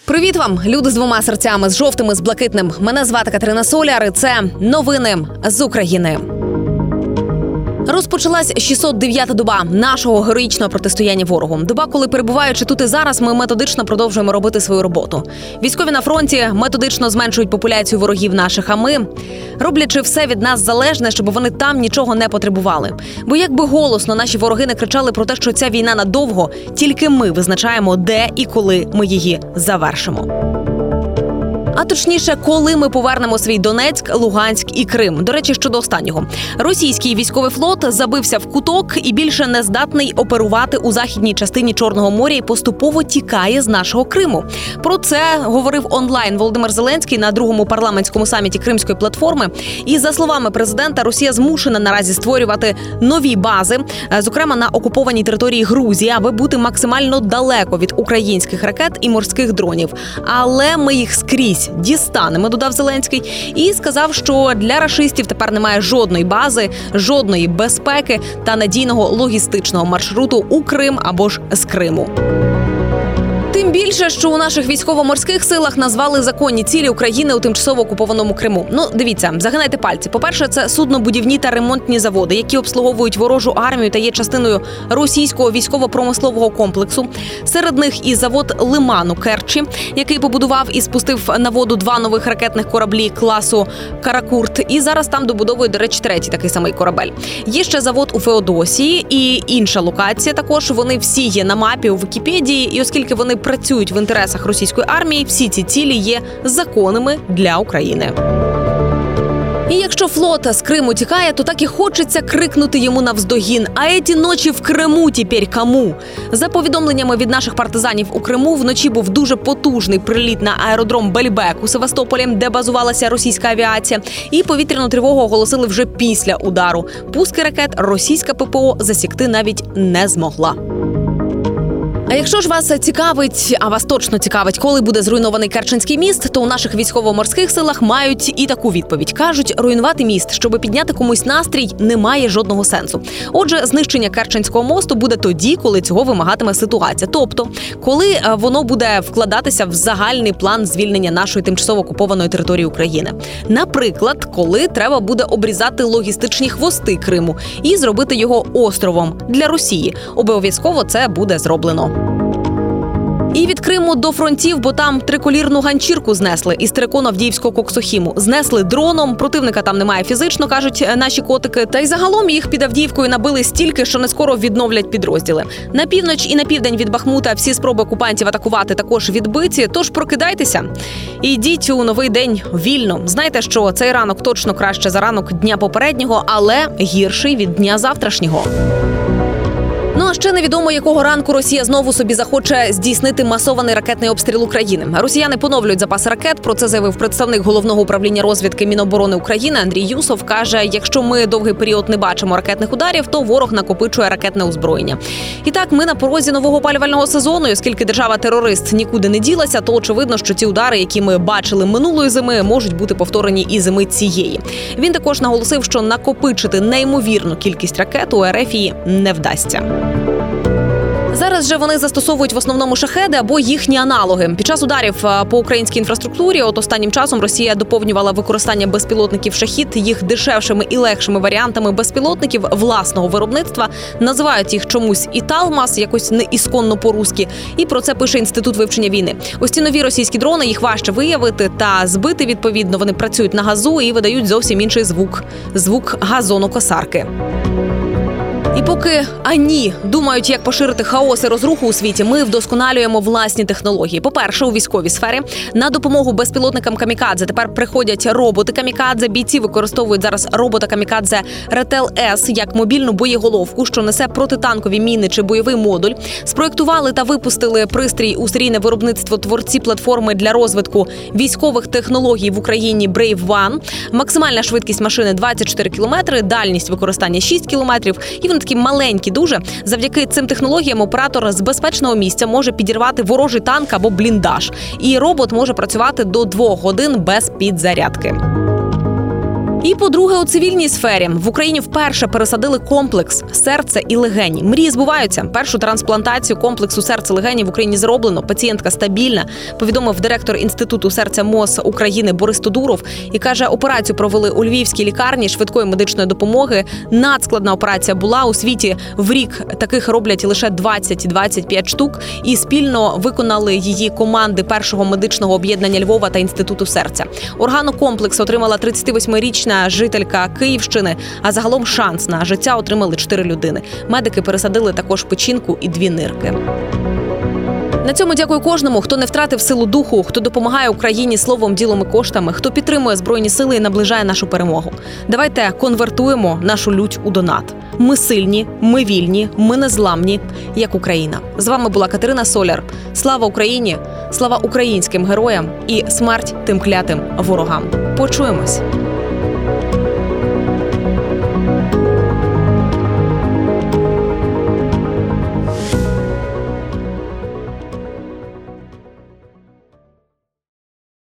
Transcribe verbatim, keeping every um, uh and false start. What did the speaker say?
Привіт вам, люди з двома серцями, з жовтим і з блакитним. Мене звати Катерина Соляр, і це новини з України. Розпочалась шістсот дев'ята доба нашого героїчного протистояння ворогу. Доба, коли, перебуваючи тут і зараз, ми методично продовжуємо робити свою роботу. Військові на фронті методично зменшують популяцію ворогів наших, а ми, роблячи все від нас залежне, щоб вони там нічого не потребували. Бо якби голосно наші вороги не кричали про те, що ця війна надовго, тільки ми визначаємо, де і коли ми її завершимо. А точніше, коли ми повернемо свій Донецьк, Луганськ і Крим. До речі, щодо останнього. Російський військовий флот забився в куток і більше не здатний оперувати у західній частині Чорного моря і поступово тікає з нашого Криму. Про це говорив онлайн Володимир Зеленський на другому парламентському саміті Кримської платформи. І за словами президента, Росія змушена наразі створювати нові бази, зокрема на окупованій території Грузії, аби бути максимально далеко від українських ракет і морських дронів. Але ми їх скрізь дістанемо, додав Зеленський, і сказав, що для рашистів тепер немає жодної бази, жодної безпеки та надійного логістичного маршруту у Крим або ж з Криму. Тим більше, що у наших військово-морських силах назвали законні цілі України у тимчасово окупованому Криму. Ну, дивіться, загинайте пальці. По-перше, це суднобудівні та ремонтні заводи, які обслуговують ворожу армію та є частиною російського військово-промислового комплексу. Серед них і завод Лиман у Керчі, який побудував і спустив на воду два нових ракетних кораблі класу «Каракурт». І зараз там добудовують, до речі, третій такий самий корабель. Є ще завод у Феодосії і інша локація також. Вони всі є на мапі у Вікіпедії, і оскільки вони працюють в інтересах російської армії, всі ці цілі є законними для України. І якщо флот з Криму тікає, то так і хочеться крикнути йому навздогін: «А еті ночі в Криму тепер кому?». За повідомленнями від наших партизанів у Криму, вночі був дуже потужний приліт на аеродром Бельбек у Севастополі, де базувалася російська авіація, і повітряну тривогу оголосили вже після удару. Пуски ракет російська ППО засікти навіть не змогла. А якщо ж вас цікавить, а вас точно цікавить, коли буде зруйнований Керченський міст, то у наших військово-морських силах мають і таку відповідь. Кажуть, руйнувати міст, щоб підняти комусь настрій, немає жодного сенсу. Отже, знищення Керченського мосту буде тоді, коли цього вимагатиме ситуація. Тобто, коли воно буде вкладатися в загальний план звільнення нашої тимчасово окупованої території України. Наприклад, коли треба буде обрізати логістичні хвости Криму і зробити його островом для Росії. Обов'язково це буде зроблено. І від Криму до фронтів, бо там триколірну ганчірку знесли із Тереконо-Авдіївського коксохіму. Знесли дроном, противника там немає фізично, кажуть наші котики. Та й загалом їх під Авдіївкою набили стільки, що не скоро відновлять підрозділи. На північ і на південь від Бахмута всі спроби окупантів атакувати також відбиті, тож прокидайтеся і йдіть у новий день вільно. Знайте, що цей ранок точно краще за ранок дня попереднього, але гірший від дня завтрашнього. Ну а ще невідомо, якого ранку Росія знову собі захоче здійснити масований ракетний обстріл України. Росіяни поновлюють запаси ракет, про це заявив представник Головного управління розвідки Міноборони України Андрій Юсов. Каже, якщо ми довгий період не бачимо ракетних ударів, то ворог накопичує ракетне озброєння. І так, ми на порозі нового опалювального сезону, і оскільки держава-терорист нікуди не ділася, то очевидно, що ті удари, які ми бачили минулої зими, можуть бути повторені і зими цієї. Він також наголосив, що накопичити неймовірну кількість ракет у РФ не вдасться. Зараз же вони застосовують в основному шахеди або їхні аналоги. Під час ударів по українській інфраструктурі от останнім часом Росія доповнювала використання безпілотників «Шахід» їх дешевшими і легшими варіантами безпілотників власного виробництва. Називають їх чомусь і «Талмас», якось не ісконно по-руськи. І про це пише Інститут вивчення війни. Ось ці нові російські дрони, їх важче виявити та збити відповідно. Вони працюють на газу і видають зовсім інший звук. Звук газонокосарки. І поки ані думають, як поширити хаос і розруху у світі, ми вдосконалюємо власні технології. По-перше, у військовій сфері на допомогу безпілотникам «Камікадзе» тепер приходять роботи «Камікадзе». Бійці використовують зараз робота «Камікадзе Ретел-С» як мобільну боєголовку, що несе протитанкові міни чи бойовий модуль. Спроєктували та випустили пристрій у серійне виробництво творці платформи для розвитку військових технологій в Україні Brave One. Максимальна швидкість машини двадцять чотири кілометри, дальність використання шість кілометрів. І вони такі маленькі дуже. Завдяки цим технологіям оператор з безпечного місця може підірвати ворожий танк або бліндаж. І робот може працювати до двох годин без підзарядки. І, по-друге, у цивільній сфері в Україні вперше пересадили комплекс серця і легені. Мрії збуваються. Першу трансплантацію комплексу серця-легені в Україні зроблено. Пацієнтка стабільна, повідомив директор Інституту серця МОЗ України Борис Тодуров. І каже, операцію провели у Львівській лікарні швидкої медичної допомоги. Надскладна операція була. У світі в рік таких роблять лише двадцять-двадцять п'ять штук. І спільно виконали її команди Першого медичного об'єднання Львова та Інституту серця. Органокомплекс отримала тридцятивосьмирічна жителька Київщини, а загалом шанс на життя отримали чотири людини. Медики пересадили також печінку і дві нирки. На цьому дякую кожному, хто не втратив силу духу, хто допомагає Україні словом, ділом і коштами, хто підтримує Збройні сили і наближає нашу перемогу. Давайте конвертуємо нашу лють у донат. Ми сильні, ми вільні, ми незламні, як Україна. З вами була Катерина Соляр. Слава Україні, слава українським героям і смерть тим клятим ворогам. Почуємось!